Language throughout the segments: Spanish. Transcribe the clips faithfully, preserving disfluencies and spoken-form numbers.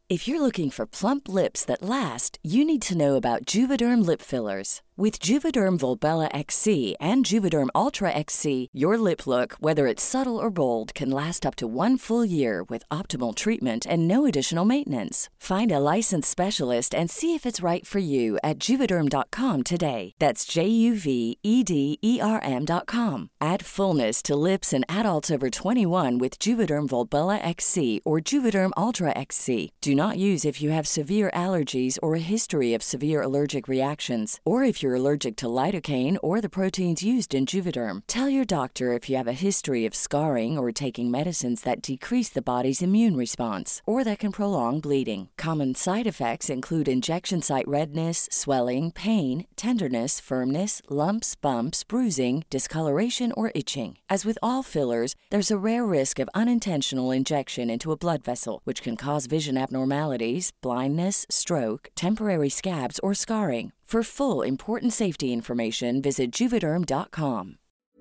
If you're looking for plump lips that last, you need to know about Juvederm lip fillers. With Juvederm Volbella X C and Juvederm Ultra X C, your lip look, whether it's subtle or bold, can last up to one full year with optimal treatment and no additional maintenance. Find a licensed specialist and see if it's right for you at Juvederm dot com today. That's J U V E D E R M dot com. Add fullness to lips in adults over twenty-one with Juvederm Volbella X C or Juvederm Ultra X C. Do not use if you have severe allergies or a history of severe allergic reactions, or if you're allergic to lidocaine or the proteins used in Juvederm. Tell your doctor if you have a history of scarring or taking medicines that decrease the body's immune response or that can prolong bleeding. Common side effects include injection site redness, swelling, pain, tenderness, firmness, lumps, bumps, bruising, discoloration, or itching. As with all fillers, there's a rare risk of unintentional injection into a blood vessel, which can cause vision abnormalities, blindness, stroke, temporary scabs, or scarring. For full, important safety information, visit Juvederm dot com.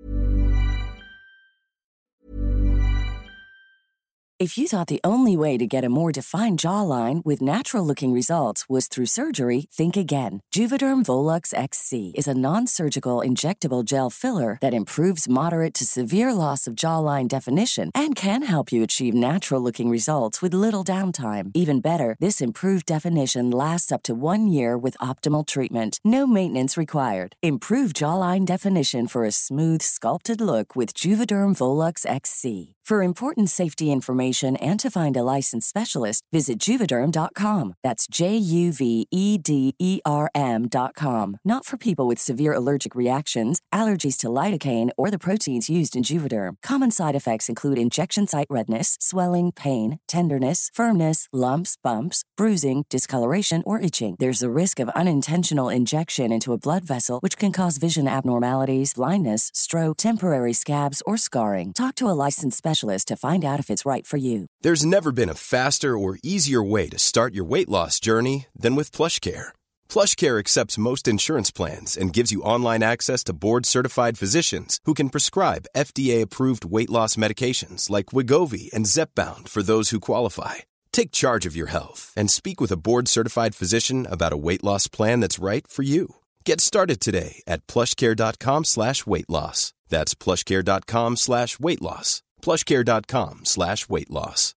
If you thought the only way to get a more defined jawline with natural-looking results was through surgery, think again. Juvederm Volux X C is a non-surgical injectable gel filler that improves moderate to severe loss of jawline definition and can help you achieve natural-looking results with little downtime. Even better, this improved definition lasts up to one year with optimal treatment. No maintenance required. Improve jawline definition for a smooth, sculpted look with Juvederm Volux X C. For important safety information and to find a licensed specialist, visit Juvederm dot com. That's J U V E D E R M dot com. Not for people with severe allergic reactions, allergies to lidocaine, or the proteins used in Juvederm. Common side effects include injection site redness, swelling, pain, tenderness, firmness, lumps, bumps, bruising, discoloration, or itching. There's a risk of unintentional injection into a blood vessel, which can cause vision abnormalities, blindness, stroke, temporary scabs, or scarring. Talk to a licensed specialist to find out if it's right for you. There's never been a faster or easier way to start your weight loss journey than with PlushCare. PlushCare accepts most insurance plans and gives you online access to board-certified physicians who can prescribe F D A-approved weight loss medications like Wegovy and Zepbound for those who qualify. Take charge of your health and speak with a board-certified physician about a weight loss plan that's right for you. Get started today at plushcare.com slash weight loss. That's plushcare.com slash weight loss. plushcare.com slash weight loss.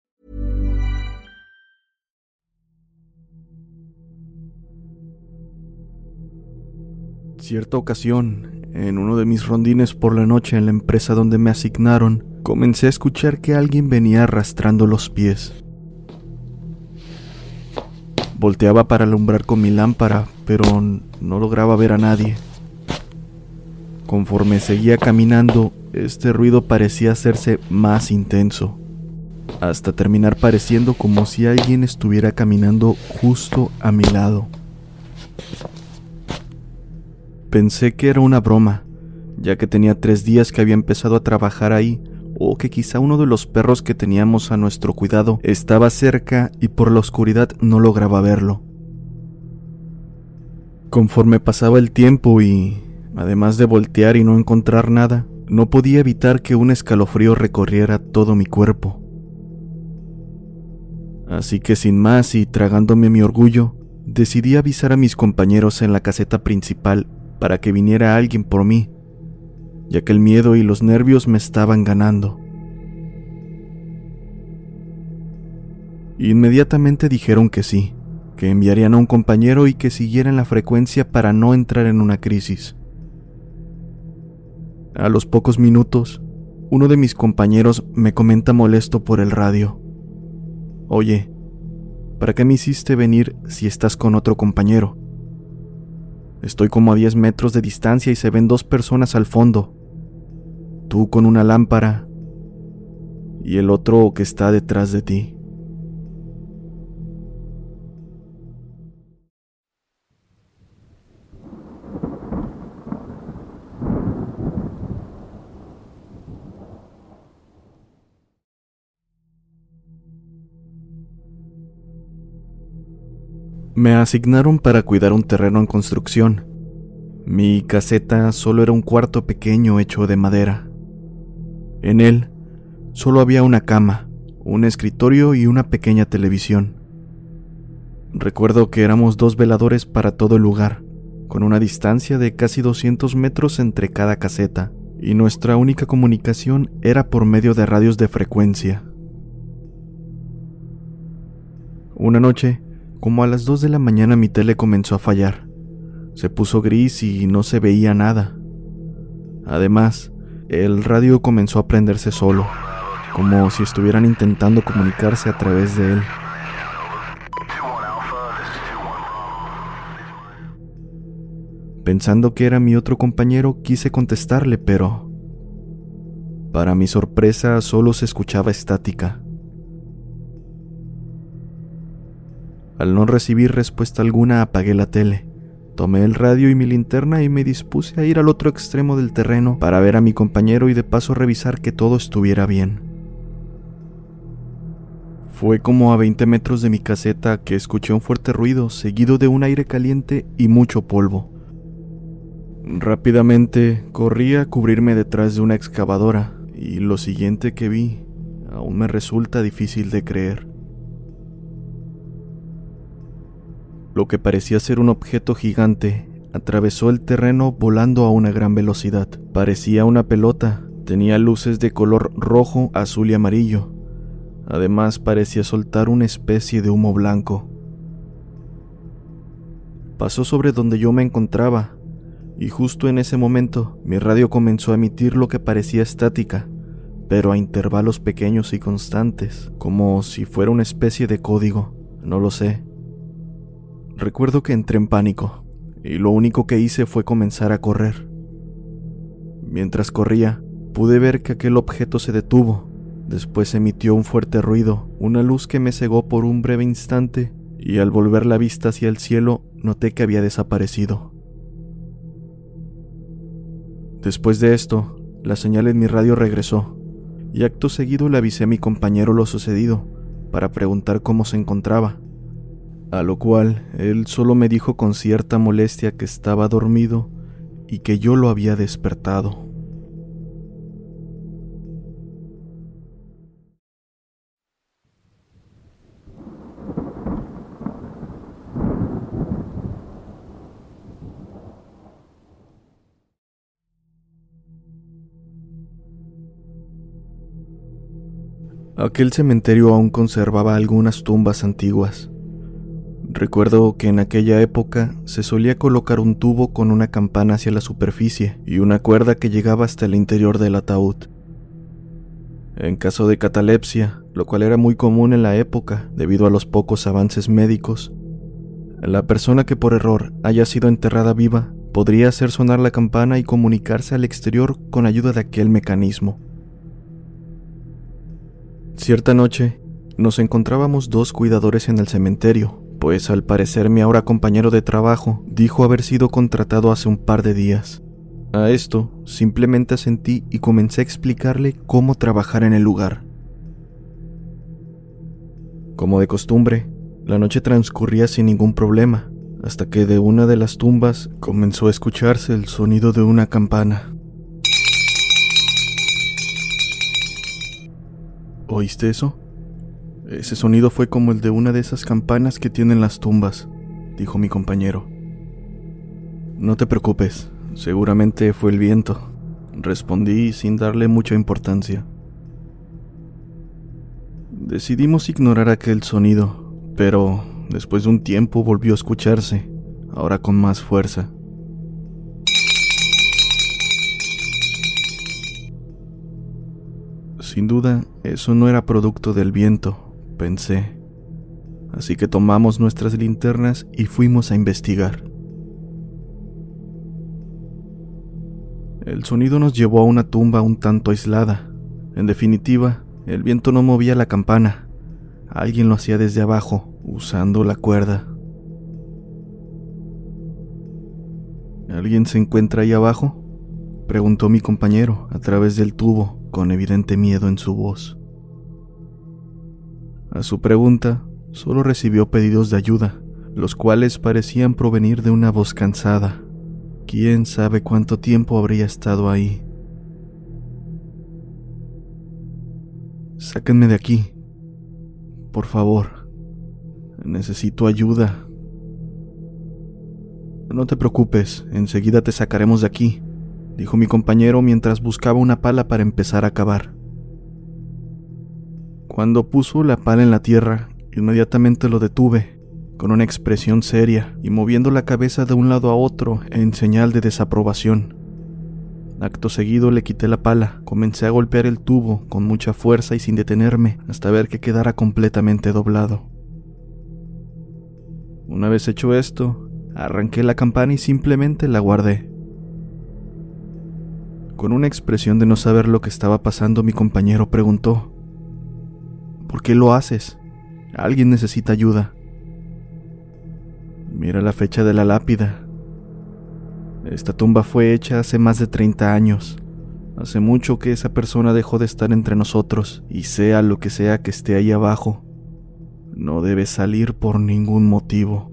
Cierta ocasión, en uno de mis rondines por la noche en la empresa donde me asignaron, comencé a escuchar que alguien venía arrastrando los pies. Volteaba para alumbrar con mi lámpara, pero no lograba ver a nadie. Conforme seguía caminando, este ruido parecía hacerse más intenso, hasta terminar pareciendo como si alguien estuviera caminando justo a mi lado. Pensé que era una broma, ya que tenía tres días que había empezado a trabajar ahí, o que quizá uno de los perros que teníamos a nuestro cuidado estaba cerca y por la oscuridad no lograba verlo. Conforme pasaba el tiempo y, además de voltear y no encontrar nada, no podía evitar que un escalofrío recorriera todo mi cuerpo. Así que sin más y tragándome mi orgullo, decidí avisar a mis compañeros en la caseta principal para que viniera alguien por mí, ya que el miedo y los nervios me estaban ganando. Inmediatamente dijeron que sí, que enviarían a un compañero y que siguieran la frecuencia para no entrar en una crisis. A los pocos minutos, uno de mis compañeros me comenta molesto por el radio: «Oye, ¿para qué me hiciste venir si estás con otro compañero? Estoy como a diez metros de distancia y se ven dos personas al fondo. Tú con una lámpara y el otro que está detrás de ti». Me asignaron para cuidar un terreno en construcción. Mi caseta solo era un cuarto pequeño hecho de madera. En él solo había una cama, un escritorio y una pequeña televisión. Recuerdo que éramos dos veladores para todo el lugar, con una distancia de casi doscientos metros entre cada caseta, y nuestra única comunicación era por medio de radios de frecuencia. Una noche, como a las dos de la mañana, mi tele comenzó a fallar. Se puso gris y no se veía nada. Además, el radio comenzó a prenderse solo, como si estuvieran intentando comunicarse a través de él. Pensando que era mi otro compañero, quise contestarle, pero para mi sorpresa solo se escuchaba estática. Al no recibir respuesta alguna, apagué la tele, tomé el radio y mi linterna y me dispuse a ir al otro extremo del terreno para ver a mi compañero y de paso revisar que todo estuviera bien. Fue como a veinte metros de mi caseta que escuché un fuerte ruido seguido de un aire caliente y mucho polvo. Rápidamente corrí a cubrirme detrás de una excavadora y lo siguiente que vi aún me resulta difícil de creer. Lo que parecía ser un objeto gigante atravesó el terreno volando a una gran velocidad. Parecía una pelota, tenía luces de color rojo, azul y amarillo. Además parecía soltar una especie de humo blanco. Pasó sobre donde yo me encontraba, y justo en ese momento mi radio comenzó a emitir lo que parecía estática, pero a intervalos pequeños y constantes, como si fuera una especie de código, no lo sé. Recuerdo que entré en pánico, y lo único que hice fue comenzar a correr. Mientras corría, pude ver que aquel objeto se detuvo, después emitió un fuerte ruido, una luz que me cegó por un breve instante, y al volver la vista hacia el cielo, noté que había desaparecido. Después de esto, la señal en mi radio regresó, y acto seguido le avisé a mi compañero lo sucedido, para preguntar cómo se encontraba, a lo cual él solo me dijo con cierta molestia que estaba dormido y que yo lo había despertado. Aquel cementerio aún conservaba algunas tumbas antiguas. Recuerdo que en aquella época se solía colocar un tubo con una campana hacia la superficie y una cuerda que llegaba hasta el interior del ataúd. En caso de catalepsia, lo cual era muy común en la época debido a los pocos avances médicos, la persona que por error haya sido enterrada viva podría hacer sonar la campana y comunicarse al exterior con ayuda de aquel mecanismo. Cierta noche, nos encontrábamos dos cuidadores en el cementerio, pues al parecer mi ahora compañero de trabajo dijo haber sido contratado hace un par de días. A esto, simplemente asentí y comencé a explicarle cómo trabajar en el lugar. Como de costumbre, la noche transcurría sin ningún problema, hasta que de una de las tumbas comenzó a escucharse el sonido de una campana. ¿Oíste eso? Ese sonido fue como el de una de esas campanas que tienen las tumbas, dijo mi compañero. No te preocupes, seguramente fue el viento, respondí sin darle mucha importancia. Decidimos ignorar aquel sonido, pero después de un tiempo volvió a escucharse, ahora con más fuerza. Sin duda, eso no era producto del viento, pensé. Así que tomamos nuestras linternas y fuimos a investigar. El sonido nos llevó a una tumba un tanto aislada. En definitiva, el viento no movía la campana. Alguien lo hacía desde abajo, usando la cuerda. ¿Alguien se encuentra ahí abajo?, preguntó mi compañero a través del tubo, con evidente miedo en su voz. A su pregunta, solo recibió pedidos de ayuda, los cuales parecían provenir de una voz cansada. ¿Quién sabe cuánto tiempo habría estado ahí? Sáquenme de aquí, por favor. Necesito ayuda. No te preocupes, enseguida te sacaremos de aquí, dijo mi compañero mientras buscaba una pala para empezar a cavar. Cuando puso la pala en la tierra, inmediatamente lo detuve, con una expresión seria y moviendo la cabeza de un lado a otro en señal de desaprobación. Acto seguido le quité la pala, comencé a golpear el tubo con mucha fuerza y sin detenerme hasta ver que quedara completamente doblado. Una vez hecho esto, arranqué la campana y simplemente la guardé. Con una expresión de no saber lo que estaba pasando, mi compañero preguntó: ¿por qué lo haces? Alguien necesita ayuda. Mira la fecha de la lápida. Esta tumba fue hecha hace más de treinta años. Hace mucho que esa persona dejó de estar entre nosotros, y sea lo que sea que esté ahí abajo, no debe salir por ningún motivo.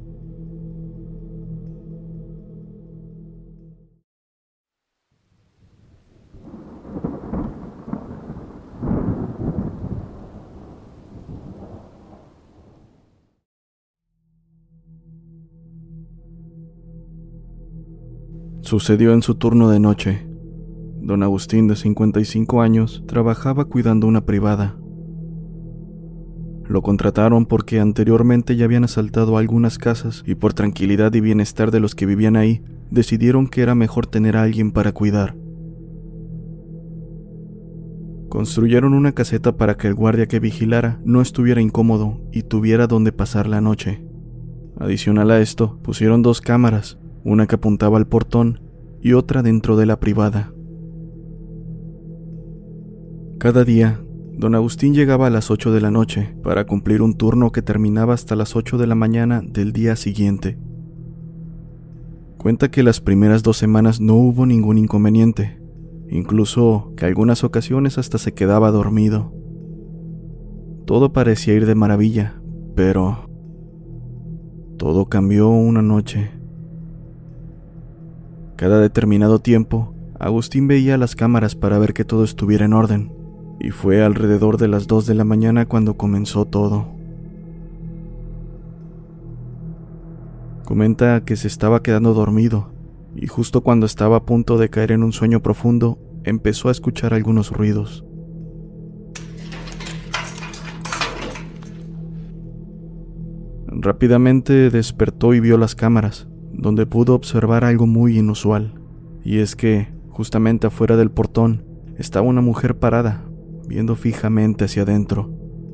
Sucedió en su turno de noche. Don Agustín, de cincuenta y cinco años, trabajaba cuidando una privada. Lo contrataron porque anteriormente ya habían asaltado algunas casas y por tranquilidad y bienestar de los que vivían ahí, decidieron que era mejor tener a alguien para cuidar. Construyeron una caseta para que el guardia que vigilara no estuviera incómodo y tuviera donde pasar la noche. Adicional a esto, pusieron dos cámaras, una que apuntaba al portón y otra dentro de la privada. Cada día, don Agustín llegaba a las ocho de la noche para cumplir un turno que terminaba hasta las ocho de la mañana del día siguiente. Cuenta que las primeras dos semanas no hubo ningún inconveniente, incluso que algunas ocasiones hasta se quedaba dormido. Todo parecía ir de maravilla, pero todo cambió una noche. Cada determinado tiempo, Agustín veía las cámaras para ver que todo estuviera en orden, y fue alrededor de las dos de la mañana cuando comenzó todo. Comenta que se estaba quedando dormido, y justo cuando estaba a punto de caer en un sueño profundo, empezó a escuchar algunos ruidos. Rápidamente despertó y vio las cámaras, donde pudo observar algo muy inusual, y es que, justamente afuera del portón, estaba una mujer parada, viendo fijamente hacia adentro.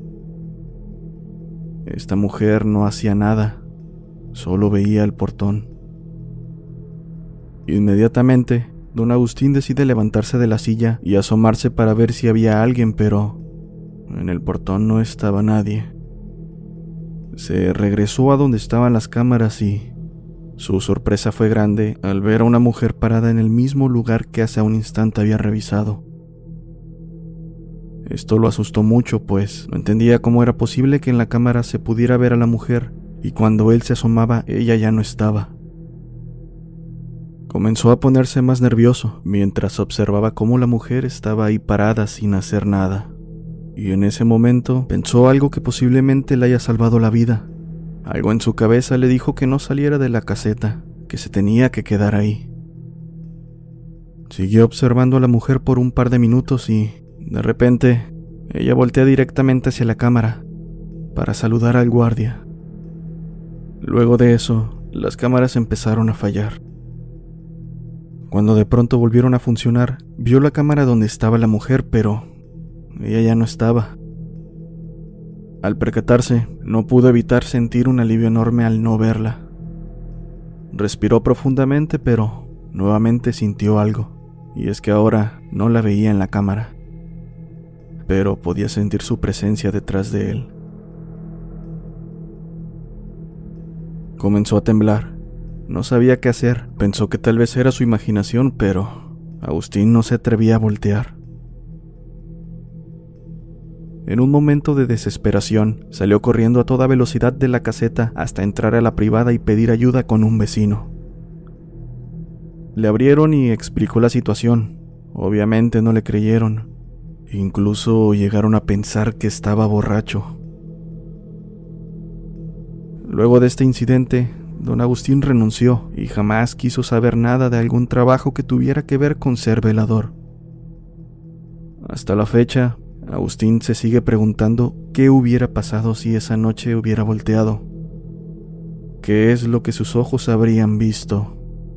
Esta mujer no hacía nada, solo veía el portón. Inmediatamente, don Agustín decide levantarse de la silla y asomarse para ver si había alguien, pero en el portón no estaba nadie. Se regresó a donde estaban las cámaras y su sorpresa fue grande al ver a una mujer parada en el mismo lugar que hace un instante había revisado. Esto lo asustó mucho, pues no entendía cómo era posible que en la cámara se pudiera ver a la mujer y cuando él se asomaba ella ya no estaba. Comenzó a ponerse más nervioso mientras observaba cómo la mujer estaba ahí parada sin hacer nada. Y en ese momento pensó algo que posiblemente le haya salvado la vida. Algo en su cabeza le dijo que no saliera de la caseta, que se tenía que quedar ahí. Siguió observando a la mujer por un par de minutos y, de repente, ella voltea directamente hacia la cámara para saludar al guardia. Luego de eso, las cámaras empezaron a fallar. Cuando de pronto volvieron a funcionar, vio la cámara donde estaba la mujer, pero ella ya no estaba. Al percatarse, no pudo evitar sentir un alivio enorme al no verla. Respiró profundamente, pero nuevamente sintió algo, y es que ahora no la veía en la cámara, pero podía sentir su presencia detrás de él. Comenzó a temblar. No sabía qué hacer. Pensó que tal vez era su imaginación, pero Agustín no se atrevía a voltear. En un momento de desesperación, salió corriendo a toda velocidad de la caseta hasta entrar a la privada y pedir ayuda con un vecino. Le abrieron y explicó la situación. Obviamente no le creyeron. Incluso llegaron a pensar que estaba borracho. Luego de este incidente, don Agustín renunció y jamás quiso saber nada de algún trabajo que tuviera que ver con ser velador. Hasta la fecha, Agustín se sigue preguntando qué hubiera pasado si esa noche hubiera volteado. ¿Qué es lo que sus ojos habrían visto?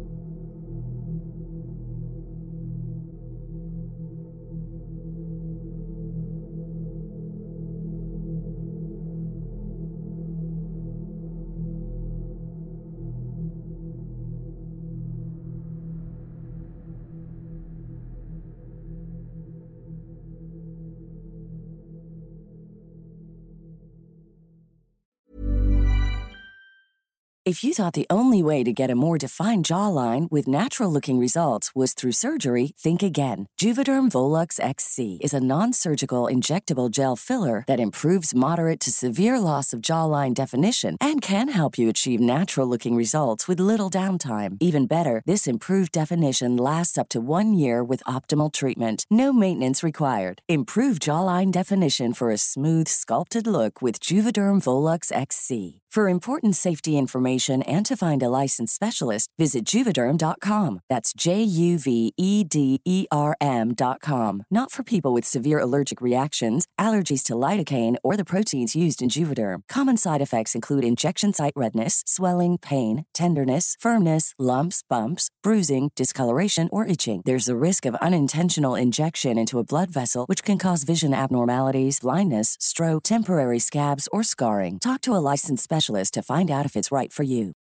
If you thought the only way to get a more defined jawline with natural-looking results was through surgery, think again. Juvederm Volux X C is a non-surgical injectable gel filler that improves moderate to severe loss of jawline definition and can help you achieve natural-looking results with little downtime. Even better, this improved definition lasts up to one year with optimal treatment. No maintenance required. Improve jawline definition for a smooth, sculpted look with Juvederm Volux X C. For important safety information and to find a licensed specialist, visit Juvederm dot com. That's J U V E D E R M dot com. Not for people with severe allergic reactions, allergies to lidocaine, or the proteins used in Juvederm. Common side effects include injection site redness, swelling, pain, tenderness, firmness, lumps, bumps, bruising, discoloration, or itching. There's a risk of unintentional injection into a blood vessel, which can cause vision abnormalities, blindness, stroke, temporary scabs, or scarring. Talk to a licensed specialist to find out if it's right for you.